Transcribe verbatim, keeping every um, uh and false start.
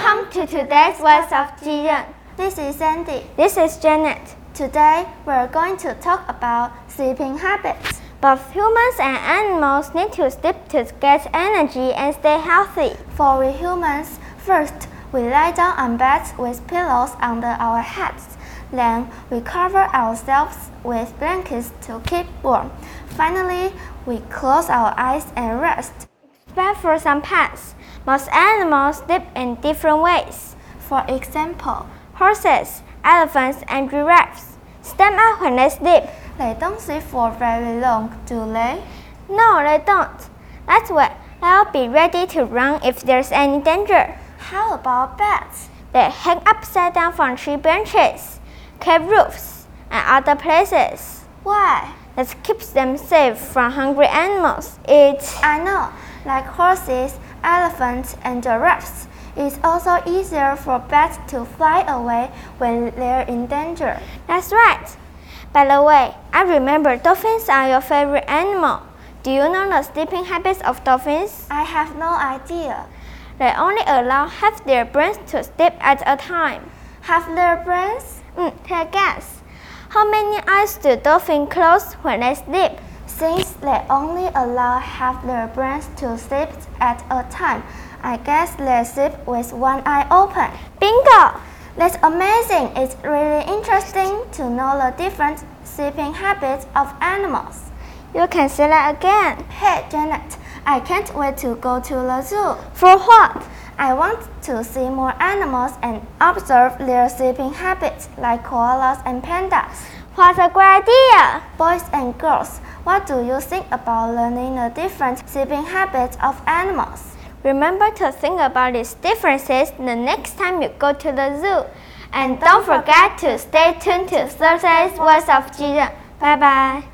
Welcome to today's Words of Jiren. This is Sandy. This is Janet. Today we're going to talk about sleeping habits. Both humans and animals need to sleep to get energy and stay healthy. For we humans, first we lie down on beds with pillows under our heads. Then we cover ourselves with blankets to keep warm. Finally, we close our eyes and rest. Except for some pets, most animals sleep in different ways. For example, horses, elephants, and giraffes stand up when they sleep. They don't sleep for very long, do they? No, they don't. That's why they'll be ready to run if there's any danger. How about bats? They hang upside down from tree branches, cave roofs, and other places. Why? That keeps them safe from hungry animals. It's I know, like horses, elephants, and giraffes. It's also easier for bats to fly away when they're in danger. That's right. By the way, I remember dolphins are your favorite animal. Do you know the sleeping habits of dolphins? I have no idea. They only allow half their brains to sleep at a time. Half their brains? Mm, take a guess. How many eyes do dolphins close when they sleep? Since they only allow half their brains to sleep at a time, I guess they sleep with one eye open. Bingo! That's amazing. It's really interesting to know the different sleeping habits of animals. You can say that again. Hey, Janet, I can't wait to go to the zoo. For what? I want to see more animals and observe their sleeping habits, like koalas and pandas. What a great idea! Boys and girls, what do you think about learning the different sleeping habits of animals? Remember to think about these differences the next time you go to the zoo. And don't forget to stay tuned to Thursday's Words of Jiren. Bye bye.